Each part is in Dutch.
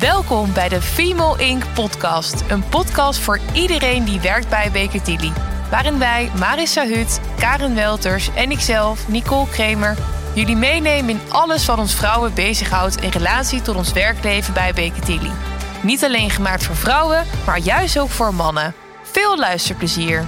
Welkom bij de Female Inc. podcast. Een podcast voor iedereen die werkt bij Baker Tilly. Waarin wij, Marissa Hut, Karen Welters en ikzelf, Nicole Kremer, jullie meenemen in alles wat ons vrouwen bezighoudt in relatie tot ons werkleven bij Baker Tilly. Niet alleen gemaakt voor vrouwen, maar juist ook voor mannen. Veel luisterplezier.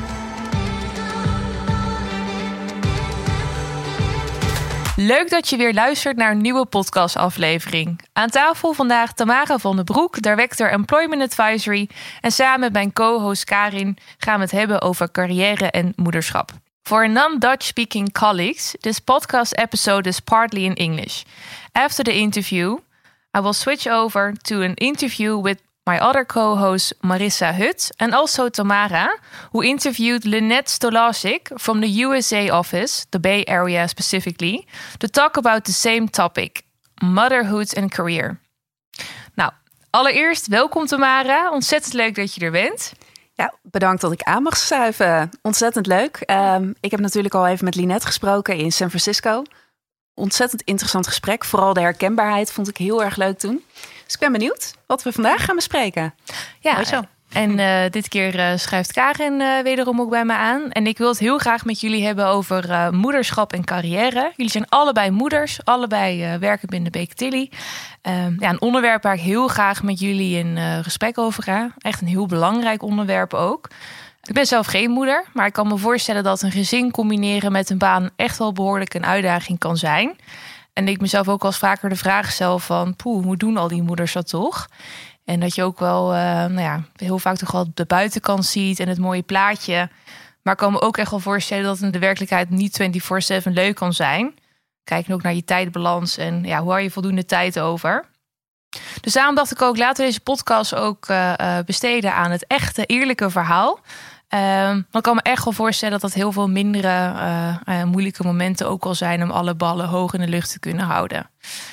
Leuk dat je weer luistert naar een nieuwe podcastaflevering. Aan tafel vandaag Tamara van den Broek, Director Employment Advisory. En samen met mijn co-host Karin gaan we het hebben over carrière en moederschap. For non-Dutch speaking colleagues, this podcast episode is partly in English. After the interview, I will switch over to an interview with my other co-host Marissa Hut and also Tamara, who interviewed Lynette Stolarczyk from the USA office, the Bay Area specifically, to talk about the same topic, motherhood and career. Nou, allereerst welkom Tamara. Ontzettend leuk dat je er bent. Ja, bedankt dat ik aan mag schuiven. Ontzettend leuk. Ik heb natuurlijk al even met Lynette gesproken in San Francisco. Ontzettend interessant gesprek. Vooral de herkenbaarheid vond ik heel erg leuk toen. Dus ik ben benieuwd wat we vandaag gaan bespreken. Ja, zo. En dit keer schuift Karen wederom ook bij me aan. En ik wil het heel graag met jullie hebben over moederschap en carrière. Jullie zijn allebei moeders, allebei werken binnen Baker Tilly. Een onderwerp waar ik heel graag met jullie in gesprek over ga. Echt een heel belangrijk onderwerp ook. Ik ben zelf geen moeder, maar ik kan me voorstellen dat een gezin combineren met een baan echt wel behoorlijk een uitdaging kan zijn. En ik mezelf ook wel eens vaker de vraag stel van, hoe doen al die moeders dat toch? En dat je ook wel heel vaak toch wel de buitenkant ziet en het mooie plaatje. Maar ik kan me ook echt wel voorstellen dat in de werkelijkheid niet 24/7 leuk kan zijn. Kijk ook naar je tijdbalans en hoe hou je voldoende tijd over. Dus daarom dacht ik ook, laten we deze podcast ook besteden aan het echte, eerlijke verhaal. Dan kan me echt wel voorstellen dat heel veel mindere moeilijke momenten ook al zijn om alle ballen hoog in de lucht te kunnen houden.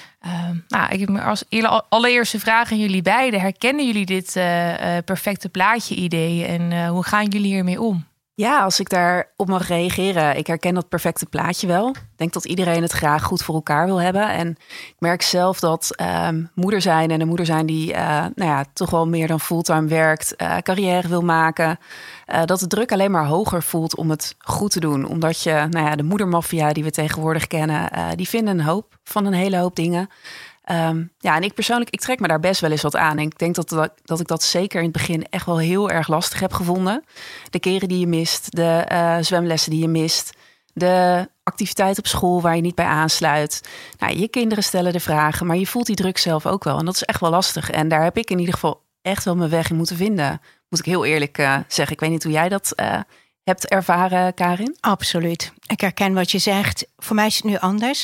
Ik heb me als allereerste vraag aan jullie beiden. Herkennen jullie dit perfecte plaatje idee en hoe gaan jullie hiermee om? Ja, als ik daarop mag reageren. Ik herken dat perfecte plaatje wel. Ik denk dat iedereen het graag goed voor elkaar wil hebben. En ik merk zelf dat moeder zijn en een moeder zijn die toch wel meer dan fulltime werkt, carrière wil maken, dat de druk alleen maar hoger voelt om het goed te doen. Omdat je, de moedermafia die we tegenwoordig kennen, die vinden een hoop van een hele hoop dingen. En ik persoonlijk, ik trek me daar best wel eens wat aan. En ik denk dat ik dat zeker in het begin echt wel heel erg lastig heb gevonden. De keren die je mist, de zwemlessen die je mist, de activiteit op school waar je niet bij aansluit. Je kinderen stellen de vragen, maar je voelt die druk zelf ook wel. En dat is echt wel lastig. En daar heb ik in ieder geval echt wel mijn weg in moeten vinden. Moet ik heel eerlijk zeggen. Ik weet niet hoe jij dat hebt ervaren, Karin? Absoluut. Ik herken wat je zegt. Voor mij is het nu anders.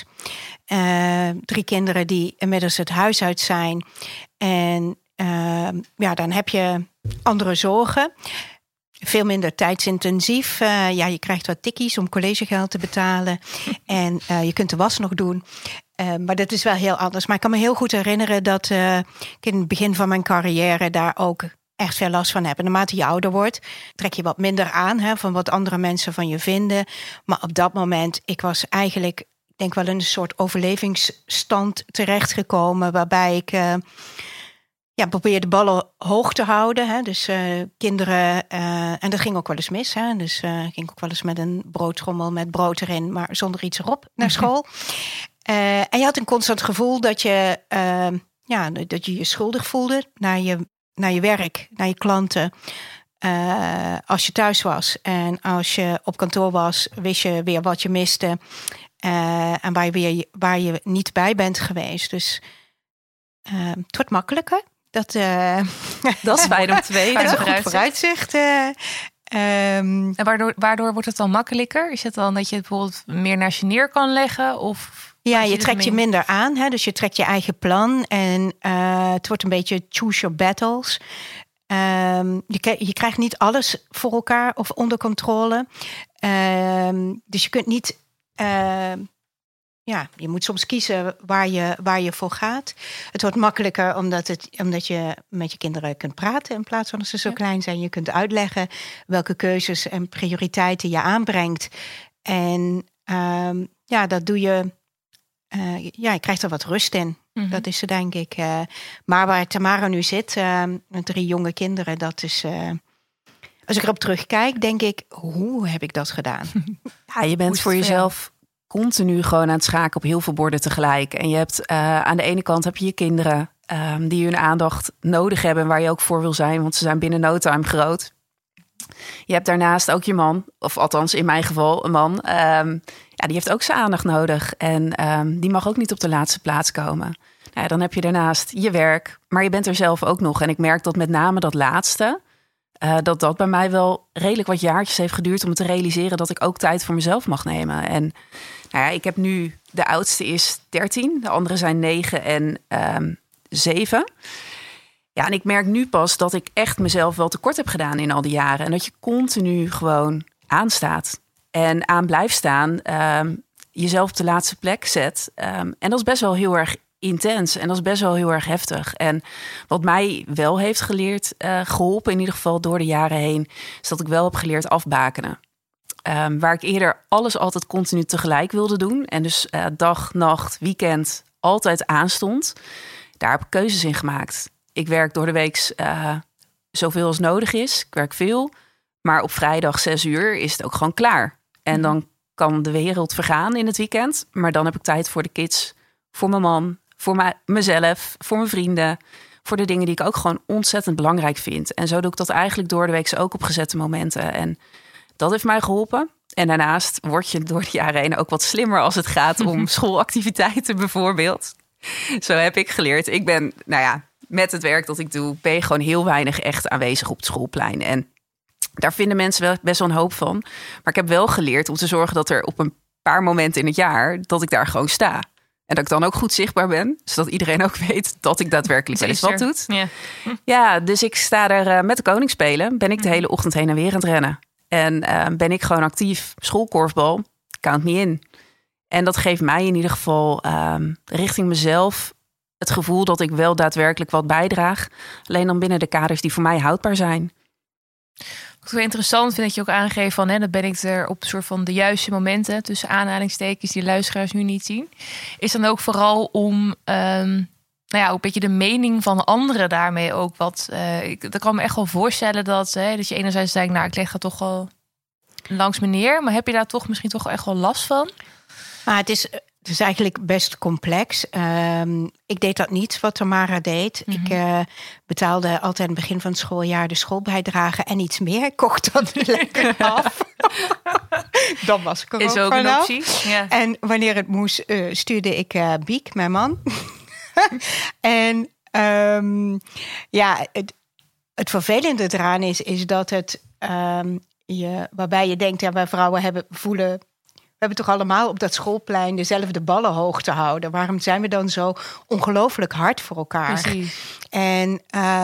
3 kinderen die inmiddels het huis uit zijn. En dan heb je andere zorgen. Veel minder tijdsintensief. Je krijgt wat tikkies om collegegeld te betalen. En je kunt de was nog doen. Maar dat is wel heel anders. Maar ik kan me heel goed herinneren dat ik in het begin van mijn carrière daar ook echt veel last van heb. En naarmate je ouder wordt, trek je wat minder aan van wat andere mensen van je vinden. Maar op dat moment, ik was eigenlijk, ik denk wel in een soort overlevingsstand terechtgekomen, waarbij ik probeerde de ballen hoog te houden. Dus kinderen, en dat ging ook wel eens mis. Dus ging ook wel eens met een broodtrommel met brood erin, maar zonder iets erop naar school. En je had een constant gevoel dat je je schuldig voelde naar je werk, naar je klanten. Als je thuis was en als je op kantoor was, wist je weer wat je miste. En waar je niet bij bent geweest. Dus het wordt makkelijker. Dat is fijn om te weten. Dat is een goed vooruitzicht. En waardoor wordt het dan makkelijker? Is het dan dat je het bijvoorbeeld meer naast je neer kan leggen? Of ja, je trekt je minder aan. Dus je trekt je eigen plan. En het wordt een beetje choose your battles. Je krijgt niet alles voor elkaar of onder controle. Dus je kunt niet je moet soms kiezen waar je voor gaat. Het wordt makkelijker omdat je met je kinderen kunt praten in plaats van dat ze zo klein zijn. Je kunt uitleggen welke keuzes en prioriteiten je aanbrengt. En dat doe je. Je krijgt er wat rust in. Dat is ze, denk ik. Maar waar Tamara nu zit, met 3 jonge kinderen, dat is... als ik erop terugkijk, denk ik, hoe heb ik dat gedaan? Ja, je bent voor jezelf continu gewoon aan het schaken op heel veel borden tegelijk. En je hebt aan de ene kant heb je je kinderen die hun aandacht nodig hebben en waar je ook voor wil zijn, want ze zijn binnen no time groot. Je hebt daarnaast ook je man, of althans in mijn geval een man. Die heeft ook zijn aandacht nodig. En die mag ook niet op de laatste plaats komen. Nou ja, dan heb je daarnaast je werk, maar je bent er zelf ook nog. En ik merk dat met name dat laatste, dat bij mij wel redelijk wat jaartjes heeft geduurd om te realiseren dat ik ook tijd voor mezelf mag nemen. En nou ja, ik heb nu, de oudste is 13, de andere zijn 9 en 7. Ja, en ik merk nu pas dat ik echt mezelf wel tekort heb gedaan in al die jaren. En dat je continu gewoon aanstaat en aan blijft staan. Jezelf op de laatste plek zet. En dat is best wel heel erg intens. En dat is best wel heel erg heftig. En wat mij wel heeft geholpen, in ieder geval door de jaren heen, is dat ik wel heb geleerd afbakenen. Waar ik eerder alles altijd continu tegelijk wilde doen. En dus dag, nacht, weekend altijd aanstond. Daar heb ik keuzes in gemaakt. Ik werk door de week zoveel als nodig is. Ik werk veel. Maar op vrijdag 6 uur is het ook gewoon klaar. En dan kan de wereld vergaan in het weekend. Maar dan heb ik tijd voor de kids, voor mijn man, voor mezelf, voor mijn vrienden. Voor de dingen die ik ook gewoon ontzettend belangrijk vind. En zo doe ik dat eigenlijk door de week ook op gezette momenten. En dat heeft mij geholpen. En daarnaast word je door de jaren heen ook wat slimmer als het gaat om schoolactiviteiten bijvoorbeeld. Zo heb ik geleerd. Ik ben, met het werk dat ik doe, ben je gewoon heel weinig echt aanwezig op het schoolplein. En daar vinden mensen wel best wel een hoop van. Maar ik heb wel geleerd om te zorgen dat er op een paar momenten in het jaar, dat ik daar gewoon sta. En dat ik dan ook goed zichtbaar ben. Zodat iedereen ook weet dat ik daadwerkelijk wel eens wat doe. Ja, dus ik sta er met de koning spelen. Ben ik de hele ochtend heen en weer aan het rennen. En ben ik gewoon actief. Schoolkorfbal, count me in. En dat geeft mij in ieder geval richting mezelf het gevoel dat ik wel daadwerkelijk wat bijdraag. Alleen dan binnen de kaders die voor mij houdbaar zijn. Wat ik wel interessant vind dat je ook aangeeft van, dat ben ik er op een soort van de juiste momenten, tussen aanhalingstekens die luisteraars nu niet zien. Is dan ook vooral om ook een beetje de mening van anderen daarmee ook wat. Dat kan me echt wel voorstellen dat je enerzijds denkt, ik leg dat toch wel langs me neer. Maar heb je daar toch misschien toch echt wel last van? Maar het is eigenlijk best complex. Ik deed dat niet wat Tamara deed. Ik betaalde altijd aan het begin van het schooljaar de schoolbijdrage en iets meer. Ik kocht dat lekker af. Dan was ik er is ook een optie. Ja. En wanneer het moest, stuurde ik Biek, mijn man. En het vervelende eraan is dat het waarbij je denkt, wij vrouwen voelen. We hebben toch allemaal op dat schoolplein dezelfde ballen hoog te houden. Waarom zijn we dan zo ongelooflijk hard voor elkaar? Precies. En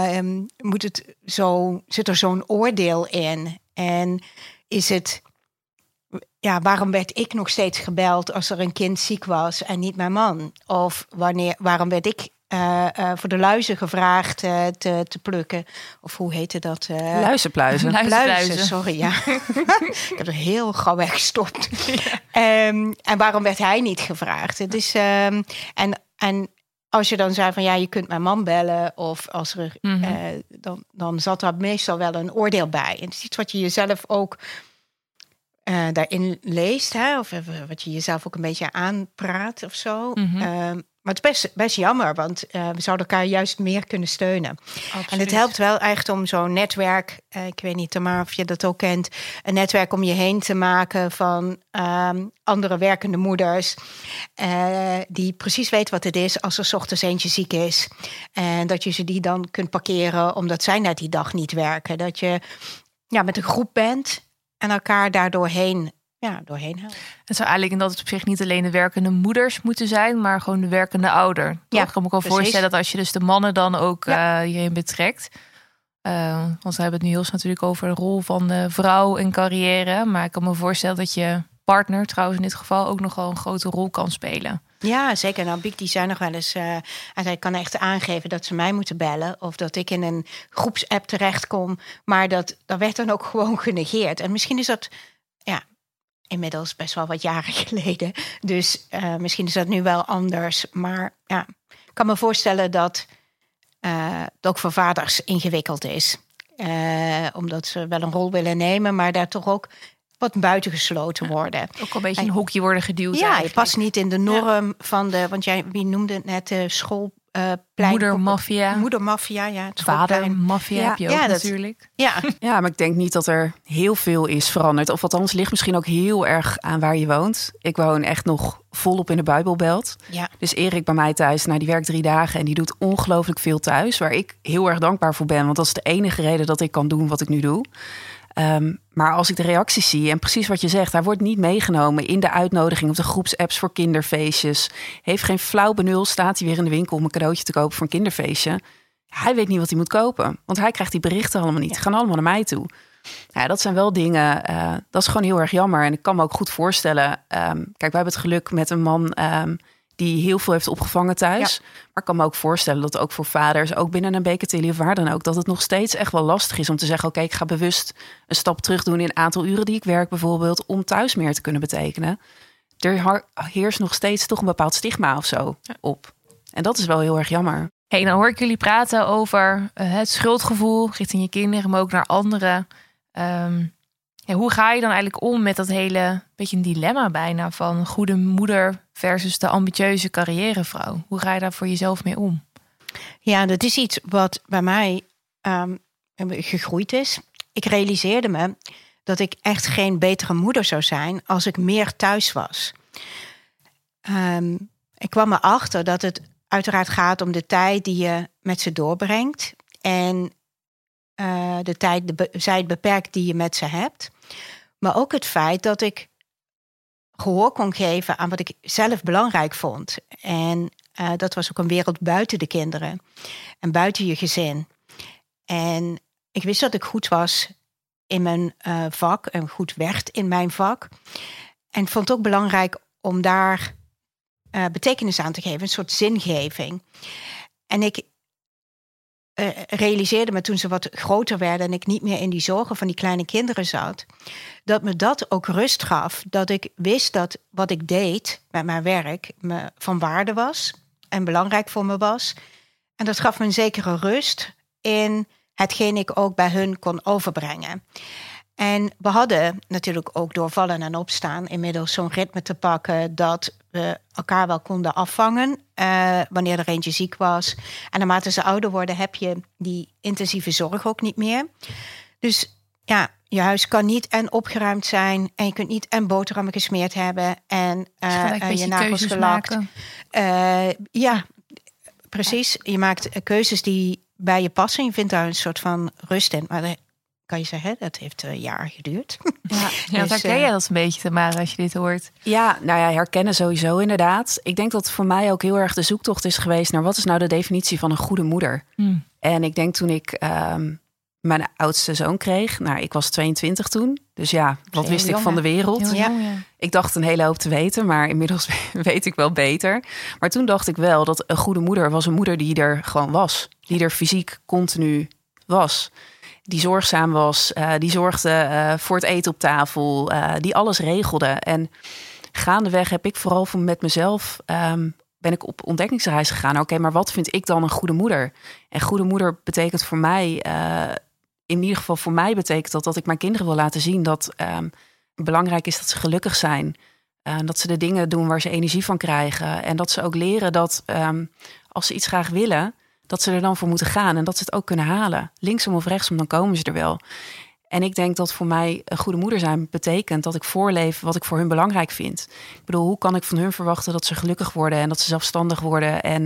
zit er zo'n oordeel in? En is het, waarom werd ik nog steeds gebeld als er een kind ziek was en niet mijn man? Of waarom werd ik voor de luizen gevraagd te plukken? Of hoe heette dat? Luizenpluizen. Luizen, sorry, ja. Ik heb er heel gauw weggestopt. Ja. En waarom werd hij niet gevraagd? Het is, en als je dan zei van je kunt mijn man bellen, of als er dan zat daar meestal wel een oordeel bij. En het is iets wat je jezelf ook daarin leest, of wat je jezelf ook een beetje aanpraat of zo. Maar het is best jammer, want we zouden elkaar juist meer kunnen steunen. Absoluut. En het helpt wel echt om zo'n netwerk, ik weet niet, Tamara, of je dat ook kent, een netwerk om je heen te maken van andere werkende moeders, die precies weten wat het is als er 's ochtends eentje ziek is. En dat je ze die dan kunt parkeren, omdat zij net die dag niet werken. Dat je met een groep bent en elkaar daar doorheen helpt. Het zou eigenlijk in dat opzicht niet alleen de werkende moeders moeten zijn, maar gewoon de werkende ouder. Ja, ik kan me ook wel voorstellen dat als je dus de mannen dan ook hierin betrekt. Want we hebben het nu heel natuurlijk over de rol van de vrouw in carrière. Maar ik kan me voorstellen dat je partner trouwens in dit geval ook nogal een grote rol kan spelen. Ja, zeker. Nou, Biek die zei nog wel eens, en zij kan echt aangeven dat ze mij moeten bellen, of dat ik in een groepsapp terechtkom. Maar dat werd dan ook gewoon genegeerd. En misschien is dat inmiddels best wel wat jaren geleden. Dus misschien is dat nu wel anders. Maar ik kan me voorstellen dat het ook voor vaders ingewikkeld is. Omdat ze wel een rol willen nemen, maar daar toch ook wat buitengesloten worden. Ook een beetje een hokje worden geduwd. Ja, je past niet in de norm van want wie noemde het net de school. Moedermafia. Moedermafia, ja. Vadermafia heb je ook natuurlijk. Ja, maar ik denk niet dat er heel veel is veranderd. Of althans, ligt misschien ook heel erg aan waar je woont. Ik woon echt nog volop in de Bijbelbelt. Ja. Dus Erik bij mij thuis, die werkt 3 dagen... en die doet ongelooflijk veel thuis. Waar ik heel erg dankbaar voor ben. Want dat is de enige reden dat ik kan doen wat ik nu doe. Maar als ik de reacties zie, en precies wat je zegt... hij wordt niet meegenomen in de uitnodiging... of de groepsapps voor kinderfeestjes. Heeft geen flauw benul, staat hij weer in de winkel... om een cadeautje te kopen voor een kinderfeestje. Hij weet niet wat hij moet kopen. Want hij krijgt die berichten allemaal niet. Ze gaan allemaal naar mij toe. Ja, dat zijn wel dingen, dat is gewoon heel erg jammer. En ik kan me ook goed voorstellen... kijk, wij hebben het geluk met een man... die heel veel heeft opgevangen thuis. Ja. Maar ik kan me ook voorstellen dat ook voor vaders... ook binnen een Beketilly of waar dan ook... dat het nog steeds echt wel lastig is om te zeggen... oké, ik ga bewust een stap terug doen... in het aantal uren die ik werk bijvoorbeeld... om thuis meer te kunnen betekenen. Er heerst nog steeds toch een bepaald stigma of zo op. En dat is wel heel erg jammer. Hey, dan hoor ik jullie praten over het schuldgevoel... richting je kinderen, maar ook naar anderen... hoe ga je dan eigenlijk om met dat hele beetje een dilemma bijna van goede moeder versus de ambitieuze carrièrevrouw? Hoe ga je daar voor jezelf mee om? Ja, dat is iets wat bij mij gegroeid is. Ik realiseerde me dat ik echt geen betere moeder zou zijn als ik meer thuis was. Ik kwam erachter dat het uiteraard gaat om de tijd die je met ze doorbrengt en de tijd beperkt die je met ze hebt. Maar ook het feit dat ik gehoor kon geven aan wat ik zelf belangrijk vond. En dat was ook een wereld buiten de kinderen. En buiten je gezin. En ik wist dat ik goed was in mijn vak. En goed werd in mijn vak. En vond het ook belangrijk om daar betekenis aan te geven. Een soort zingeving. En ik realiseerde me toen ze wat groter werden... en ik niet meer in die zorgen van die kleine kinderen zat... dat me dat ook rust gaf. Dat ik wist dat wat ik deed met mijn werk... me van waarde was en belangrijk voor me was. En dat gaf me een zekere rust... in hetgeen ik ook bij hun kon overbrengen. En we hadden natuurlijk ook door vallen en opstaan... inmiddels zo'n ritme te pakken... dat we elkaar wel konden afvangen... wanneer er eentje ziek was. En naarmate ze ouder worden... heb je die intensieve zorg ook niet meer. Dus ja, je huis kan niet en opgeruimd zijn... en je kunt niet en boterhammen gesmeerd hebben... en je nagels gelakt. Ja, precies. Je maakt keuzes die bij je passen. Je vindt daar een soort van rust in. Maar kan je zeggen, dat heeft een jaar geduurd. Ja, dus, herken jij dat een beetje, Tamara, als je dit hoort? Ja, herkennen sowieso inderdaad. Ik denk dat voor mij ook heel erg de zoektocht is geweest... naar wat is nou de definitie van een goede moeder? En ik denk toen ik mijn oudste zoon kreeg... ik was 22 toen, dus ja, wat wist ik van de wereld? Ja. Ik dacht een hele hoop te weten, maar inmiddels weet ik wel beter. Maar toen dacht ik wel dat een goede moeder was een moeder die er gewoon was. Die er fysiek continu was. Die zorgzaam was, die zorgde voor het eten op tafel, die alles regelde. En gaandeweg heb ik vooral met mezelf, ben ik op ontdekkingsreis gegaan. Oké, maar wat vind ik dan een goede moeder? En goede moeder betekent voor mij, in ieder geval voor mij betekent dat ik mijn kinderen wil laten zien dat belangrijk is dat ze gelukkig zijn. Dat ze de dingen doen waar ze energie van krijgen. En dat ze ook leren dat als ze iets graag willen... dat ze er dan voor moeten gaan en dat ze het ook kunnen halen. Linksom of rechtsom, dan komen ze er wel. En ik denk dat voor mij een goede moeder zijn betekent... dat ik voorleef wat ik voor hun belangrijk vind. Ik bedoel, hoe kan ik van hun verwachten dat ze gelukkig worden... en dat ze zelfstandig worden en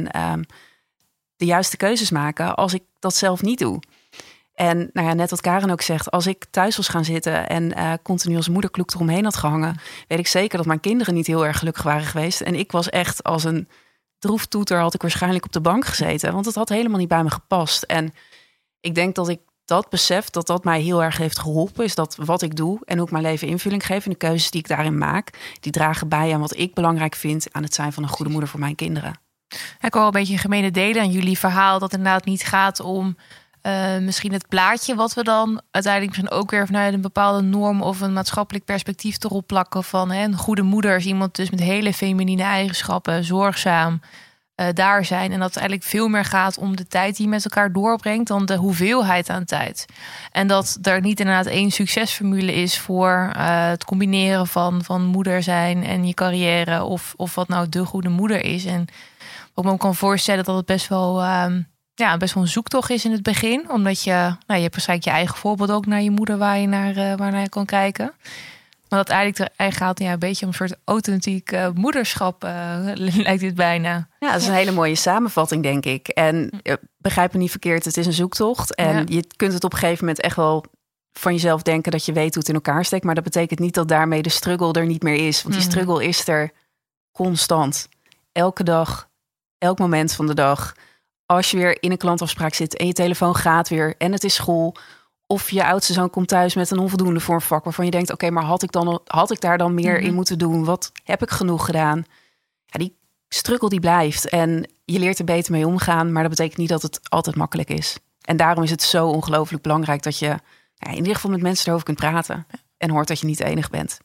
de juiste keuzes maken... als ik dat zelf niet doe? En net wat Karen ook zegt... als ik thuis was gaan zitten en continu als moederkloek eromheen had gehangen... weet ik zeker dat mijn kinderen niet heel erg gelukkig waren geweest. En ik was echt als een... droeftoeter had ik waarschijnlijk op de bank gezeten. Want het had helemaal niet bij me gepast. En ik denk dat ik dat besef, dat mij heel erg heeft geholpen. Is dat wat ik doe en hoe ik mijn leven invulling geef. En de keuzes die ik daarin maak. Die dragen bij aan wat ik belangrijk vind. Aan het zijn van een goede moeder voor mijn kinderen. Ik hoor een beetje een gemene delen aan jullie verhaal. Dat het inderdaad niet gaat om misschien het plaatje. Wat we dan uiteindelijk misschien ook weer vanuit een bepaalde norm. Of een maatschappelijk perspectief erop plakken. Van een goede moeder is iemand dus met hele feminine eigenschappen. Zorgzaam. daar zijn. En dat het eigenlijk veel meer gaat om de tijd die je met elkaar doorbrengt dan de hoeveelheid aan tijd. En dat er niet inderdaad één succesformule is voor het combineren van moeder zijn en je carrière. Of wat nou de goede moeder is. En wat ik me kan voorstellen dat het best wel een zoektocht is in het begin. Omdat je hebt waarschijnlijk je eigen voorbeeld ook naar je moeder waar je naar je kan kijken. Maar dat eigenlijk gaat een beetje om een soort authentiek moederschap, lijkt dit bijna. Ja, dat is een hele mooie samenvatting, denk ik. En begrijp me niet verkeerd, het is een zoektocht. En je kunt het op een gegeven moment echt wel van jezelf denken dat je weet hoe het in elkaar steekt. Maar dat betekent niet dat daarmee de struggle er niet meer is. Want die struggle is er constant. Elke dag, elk moment van de dag. Als je weer in een klantafspraak zit en je telefoon gaat weer en het is school. Of je oudste zoon komt thuis met een onvoldoende voor een vak waarvan je denkt, oké, maar had ik daar dan meer in moeten doen? Wat heb ik genoeg gedaan? Ja, die struggle die blijft en je leert er beter mee omgaan, maar dat betekent niet dat het altijd makkelijk is. En daarom is het zo ongelooflijk belangrijk dat je in ieder geval met mensen erover kunt praten en hoort dat je niet de enige bent.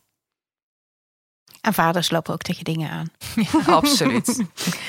En vaders lopen ook tegen dingen aan. Ja, absoluut.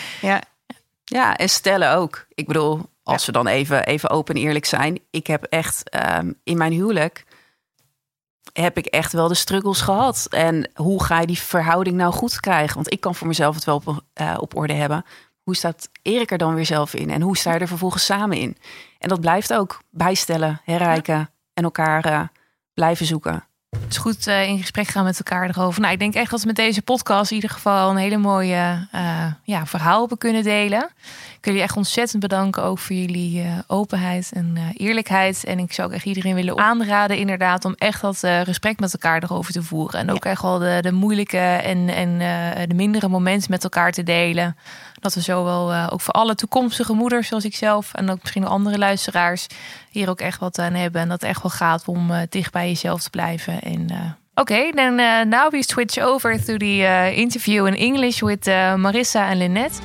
Ja, en stellen ook. Ik bedoel, als we dan even open en eerlijk zijn. Ik heb echt in mijn huwelijk heb ik echt wel de struggles gehad. En hoe ga je die verhouding nou goed krijgen? Want ik kan voor mezelf het wel op orde hebben. Hoe staat Erik er dan weer zelf in? En hoe sta je er vervolgens samen in? En dat blijft ook bijstellen, herrijken en elkaar blijven zoeken. Het is goed in gesprek gaan met elkaar erover. Nou, ik denk echt dat we met deze podcast in ieder geval een hele mooie verhaal hebben kunnen delen. Ik wil jullie echt ontzettend bedanken ook voor jullie openheid en eerlijkheid. En ik zou ook echt iedereen willen aanraden inderdaad om echt dat gesprek met elkaar erover te voeren. En ook echt wel de moeilijke en de mindere momenten met elkaar te delen. Dat we zo wel ook voor alle toekomstige moeders zoals ik zelf en ook misschien andere luisteraars hier ook echt wat aan hebben. En dat het echt wel gaat om dicht bij jezelf te blijven. En okay, then now we switch over to the interview in English with Marissa and Lynette.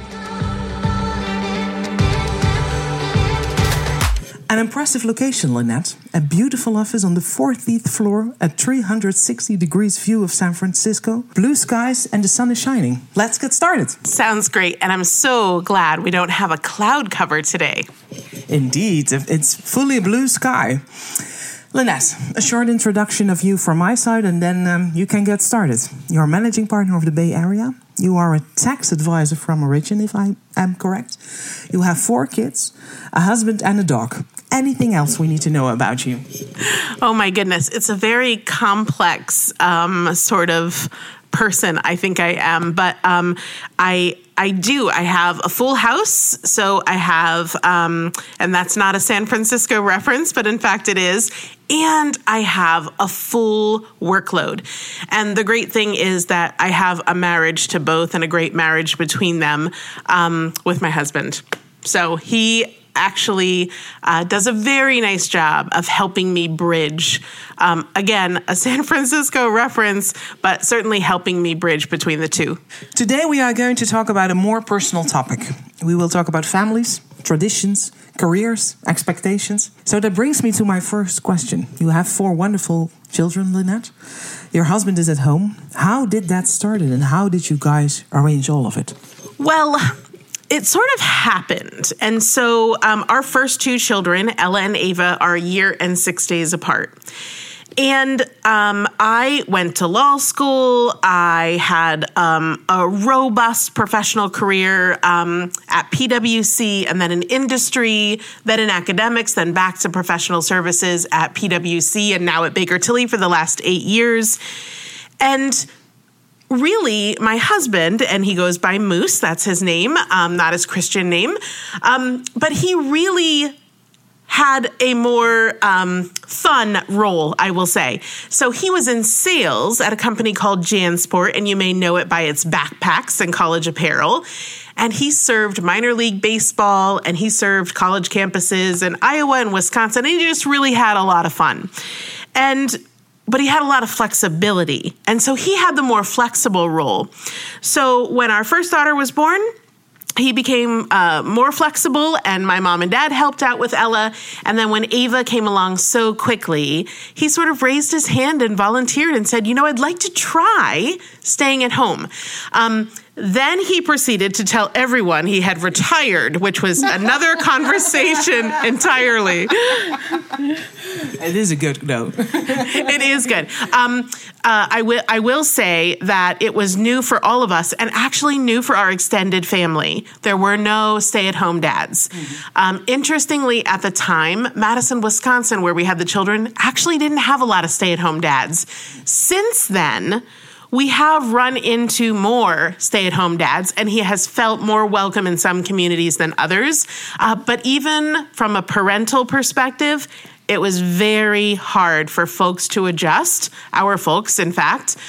An impressive location, Lynette. A beautiful office on the 14th floor, a 360 degrees view of San Francisco, blue skies, and the sun is shining. Let's get started. Sounds great, and I'm so glad we don't have a cloud cover today. Indeed, it's fully blue sky. Lynette, a short introduction of you from my side, and then you can get started. You're a managing partner of the Bay Area. You are a tax advisor from Origin, if I am correct. You have 4 kids, a husband and a dog. Anything else we need to know about you? Oh my goodness, it's a very complex sort of person I think I am, but I have a full house. So I have, and that's not a San Francisco reference, but in fact it is. And I have a full workload. And the great thing is that I have a marriage to both and a great marriage between them with my husband. So he actually does a very nice job of helping me bridge, again, a San Francisco reference, but certainly helping me bridge between the two. Today we are going to talk about a more personal topic. We will talk about families, traditions, careers, expectations. So that brings me to my first question. You have 4 wonderful children, Lynette. Your husband is at home. How did that start and how did you guys arrange all of it? Well, it sort of happened. And so our first 2 children, Ella and Ava, are a year and 6 days apart. And I went to law school. I had a robust professional career at PwC, and then in industry, then in academics, then back to professional services at PwC, and now at Baker Tilly for the last 8 years. And really, my husband, and he goes by Moose, that's his name, not his Christian name, but he really had a more fun role, I will say. So he was in sales at a company called JanSport, and you may know it by its backpacks and college apparel. And he served minor league baseball, and he served college campuses in Iowa and Wisconsin, and he just really had a lot of fun. But he had a lot of flexibility. And so he had the more flexible role. So when our first daughter was born, he became more flexible, and my mom and dad helped out with Ella. And then when Ava came along so quickly, he sort of raised his hand and volunteered and said, I'd like to try staying at home. Then he proceeded to tell everyone he had retired, which was another conversation entirely. It is a good note. It is good. I will say that it was new for all of us and actually new for our extended family. There were no stay-at-home dads. Interestingly, at the time, Madison, Wisconsin, where we had the children, actually didn't have a lot of stay-at-home dads. Since then, we have run into more stay-at-home dads, and he has felt more welcome in some communities than others. But even from a parental perspective, it was very hard for folks to adjust, our folks, in fact,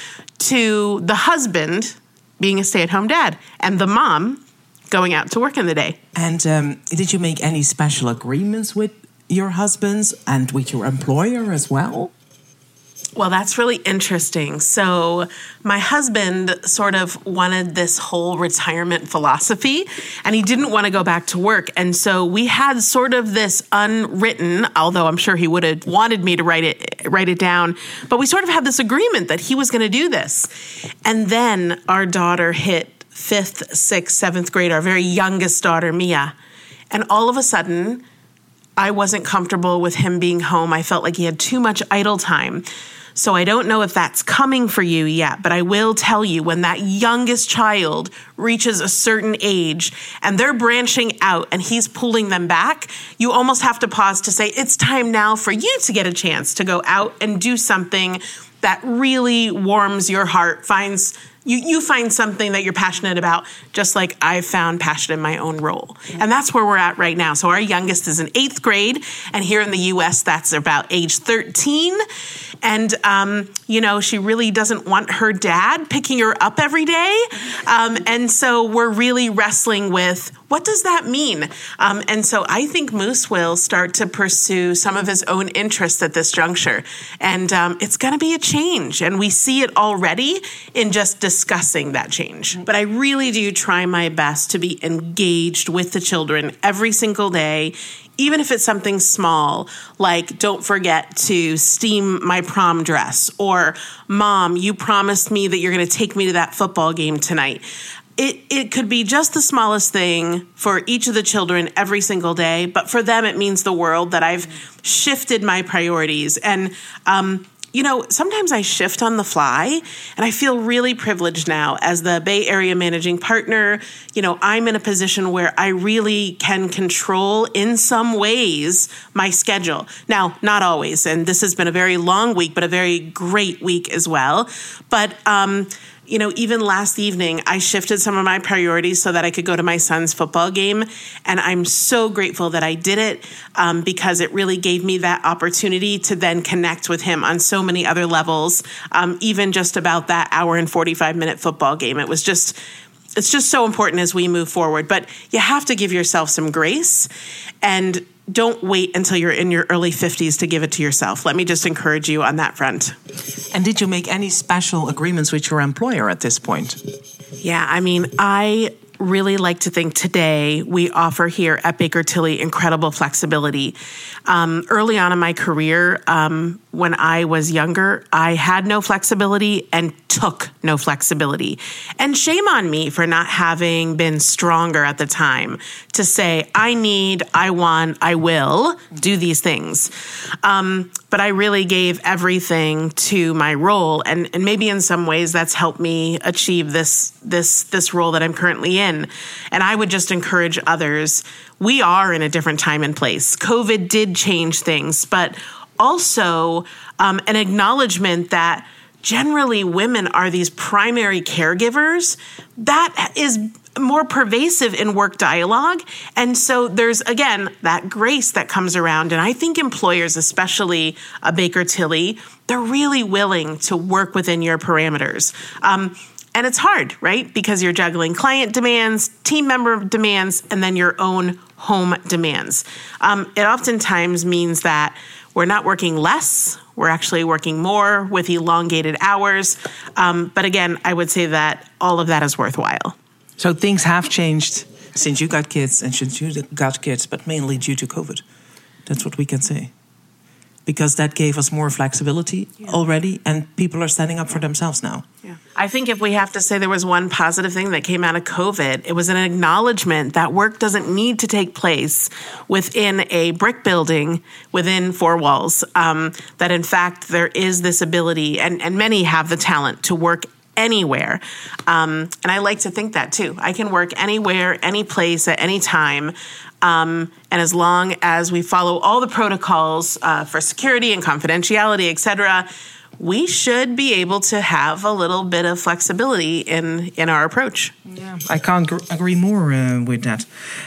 to the husband being a stay-at-home dad and the mom going out to work in the day. And did you make any special agreements with your husbands and with your employer as well? Well, that's really interesting. So my husband sort of wanted this whole retirement philosophy, and he didn't want to go back to work. And so we had sort of this unwritten, although I'm sure he would have wanted me to write it down, but we sort of had this agreement that he was going to do this. And then our daughter hit 5th, 6th, 7th grade, our very youngest daughter, Mia. And all of a sudden, I wasn't comfortable with him being home. I felt like he had too much idle time. So I don't know if that's coming for you yet, but I will tell you, when that youngest child reaches a certain age and they're branching out and he's pulling them back, you almost have to pause to say, it's time now for you to get a chance to go out and do something that really warms your heart, you find something that you're passionate about, just like I've found passion in my own role. And that's where we're at right now. So our youngest is in 8th grade, and here in the U.S., that's about age 13. And, she really doesn't want her dad picking her up every day. And so we're really wrestling with, what does that mean? And so I think Moose will start to pursue some of his own interests at this juncture. And it's going to be a change. And we see it already in just discussing that change. But I really do try my best to be engaged with the children every single day, even if it's something small, like don't forget to steam my prom dress, or Mom, you promised me that you're going to take me to that football game tonight. It could be just the smallest thing for each of the children every single day, but for them it means the world that I've shifted my priorities. And sometimes I shift on the fly, and I feel really privileged now as the Bay Area managing partner. I'm in a position where I really can control, in some ways, my schedule. Now, not always, and this has been a very long week, but a very great week as well. But even last evening, I shifted some of my priorities so that I could go to my son's football game. And I'm so grateful that I did it because it really gave me that opportunity to then connect with him on so many other levels, even just about that hour and 45-minute football game. It's just so important as we move forward. But you have to give yourself some grace, and don't wait until you're in your early 50s to give it to yourself. Let me just encourage you on that front. And did you make any special agreements with your employer at this point? Yeah, I really like to think today we offer here at Baker Tilly incredible flexibility. Early on in my career, when I was younger, I had no flexibility and took no flexibility. And shame on me for not having been stronger at the time to say, I need, I want, I will do these things. But I really gave everything to my role. And maybe in some ways that's helped me achieve this role that I'm currently in. And I would just encourage others. We are in a different time and place. COVID did change things, but also an acknowledgement that generally women are these primary caregivers. That is more pervasive in work dialogue. And so there's, again, that grace that comes around. And I think employers, especially Baker Tilly, they're really willing to work within your parameters. And it's hard, right? Because you're juggling client demands, team member demands, and then your own home demands. It oftentimes means that we're not working less. We're actually working more with elongated hours. But again, I would say that all of that is worthwhile. So things have changed since you got kids and since you got kids, but mainly due to COVID. That's what we can say. because that gave us more flexibility already, and people are standing up for themselves now. Yeah. I think if we have to say there was one positive thing that came out of COVID, it was an acknowledgement that work doesn't need to take place within a brick building within four walls, that in fact there is this ability, and many have the talent to work anywhere. And I like to think that too. I can work anywhere, any place, at any time. And as long as we follow all the protocols for security and confidentiality, et cetera, we should be able to have a little bit of flexibility in our approach. Yeah, I can't agree more with that.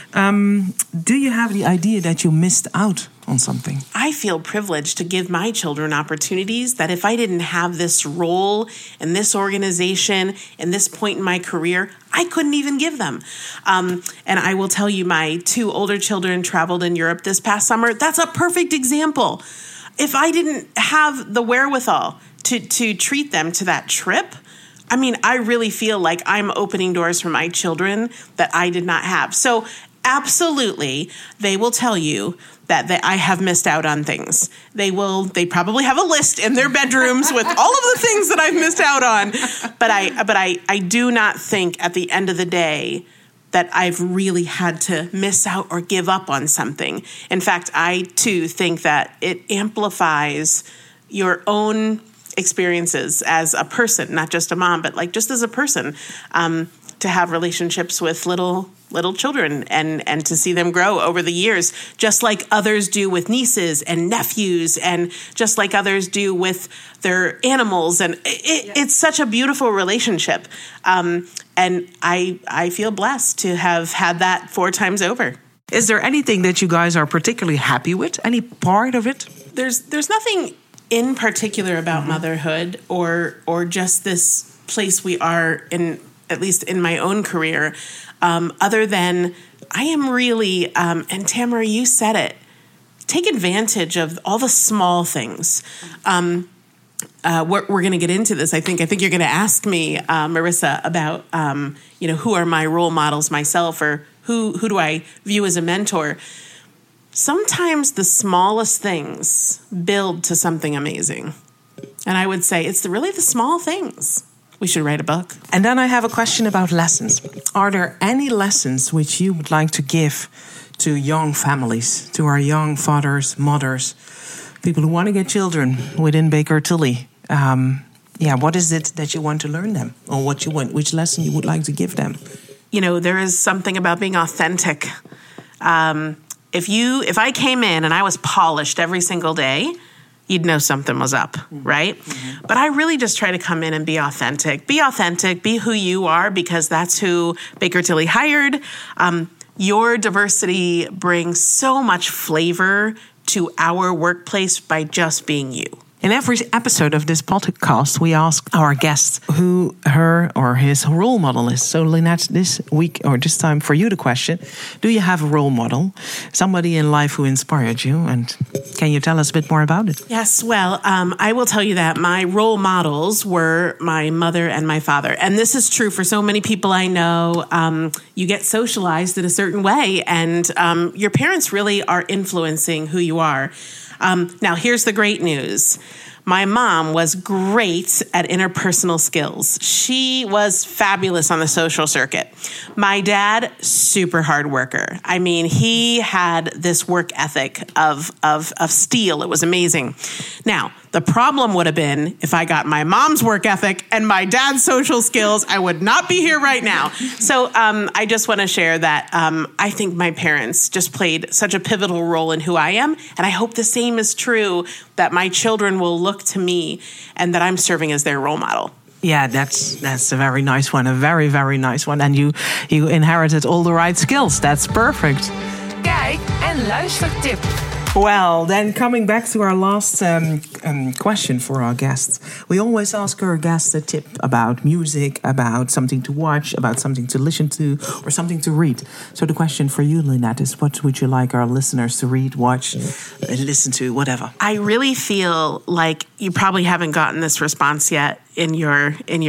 Do you have the idea that you missed out on something? I feel privileged to give my children opportunities that if I didn't have this role in this organization in this point in my career, I couldn't even give them. And I will tell you, my two older children traveled in Europe this past summer. That's a perfect example. If I didn't have the wherewithal to treat them to that trip, I mean, I really feel like I'm opening doors for my children that I did not have. So absolutely, they will tell you that I have missed out on things. They probably have a list in their bedrooms with all of the things that I've missed out on. But I do not think at the end of the day that I've really had to miss out or give up on something. In fact, I too think that it amplifies your own experiences as a person, not just a mom, but like just as a person, to have relationships with little children and to see them grow over the years, just like others do with nieces and nephews, and just like others do with their animals. And it's such a beautiful relationship. And I feel blessed to have had that 4 times over. Is there anything that you guys are particularly happy with? Any part of it? There's nothing in particular about motherhood or just this place we are in, at least in my own career, other than I am really, and Tamara, you said it, take advantage of all the small things. We're going to get into this. I think you're going to ask me, Marissa, about who are my role models myself, or who do I view as a mentor. Sometimes the smallest things build to something amazing, and I would say it's really the small things. We should write a book. And then I have a question about lessons. Are there any lessons which you would like to give to young families, to our young fathers, mothers, people who want to get children within Baker Tilly? What is it that you want to learn them, or which lesson you would like to give them? There is something about being authentic. If I came in and I was polished every single day, you'd know something was up, right? Mm-hmm. But I really just try to come in and be authentic. Be authentic, be who you are, because that's who Baker Tilly hired. Your diversity brings so much flavor to our workplace by just being you. In every episode of this podcast, we ask our guests who her or his role model is. So, Lynette, this week, or this time for you, the question, do you have a role model, somebody in life who inspired you? And can you tell us a bit more about it? Yes, well, I will tell you that my role models were my mother and my father. And this is true for so many people I know. You get socialized in a certain way, and your parents really are influencing who you are. Now, here's the great news. My mom was great at interpersonal skills. She was fabulous on the social circuit. My dad, super hard worker. I mean, he had this work ethic of steel. It was amazing. Now, the problem would have been if I got my mom's work ethic and my dad's social skills, I would not be here right now. So I just want to share that I think my parents just played such a pivotal role in who I am. And I hope the same is true, that my children will look to me and that I'm serving as their role model. Yeah, that's a very nice one. A very, very nice one. And you inherited all the right skills. That's perfect. Kijk- en luistertip. Well, then coming back to our last question for our guests. We always ask our guests a tip about music, about something to watch, about something to listen to, or something to read. So the question for you, Lynette, is what would you like our listeners to read, watch, listen to, whatever? I really feel like you probably haven't gotten this response yet in your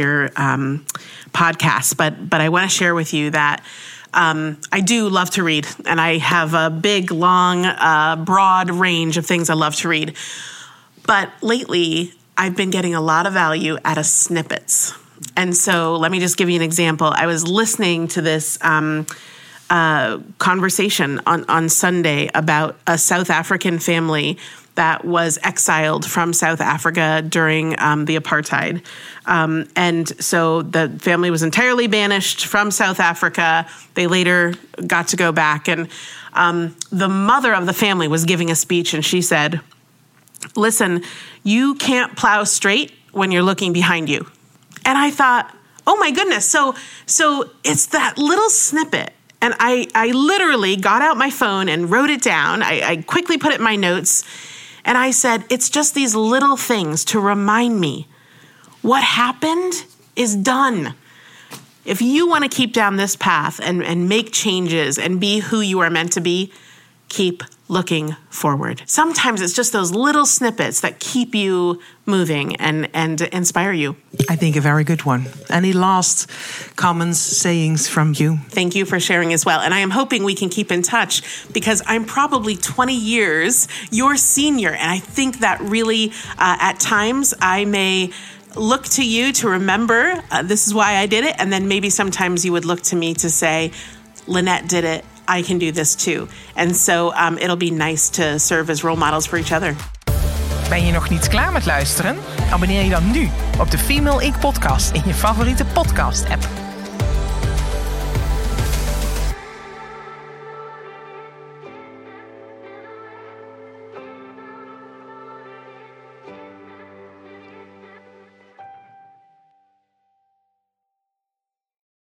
podcast, but I want to share with you that I do love to read, and I have a big, long, broad range of things I love to read. But lately, I've been getting a lot of value out of snippets. And so let me just give you an example. I was listening to this conversation on Sunday about a South African family that was exiled from South Africa during the apartheid. And so the family was entirely banished from South Africa. They later got to go back. And the mother of the family was giving a speech, and she said, listen, you can't plow straight when you're looking behind you. And I thought, oh my goodness. So it's that little snippet. And I literally got out my phone and wrote it down. I quickly put it in my notes. And I said, it's just these little things to remind me what happened is done. If you want to keep down this path and make changes and be who you are meant to be, keep looking forward. Sometimes it's just those little snippets that keep you moving and inspire you. I think a very good one. Any last comments, sayings from you? Thank you for sharing as well. And I am hoping we can keep in touch because I'm probably 20 years your senior. And I think that really, at times, I may look to you to remember this is why I did it. And then maybe sometimes you would look to me to say, Lynette did it. I can do this too. And so it'll be nice to serve as role models for each other. Ben je nog niet klaar met luisteren? Abonneer je dan nu op de Female Inc. podcast in je favoriete podcast app.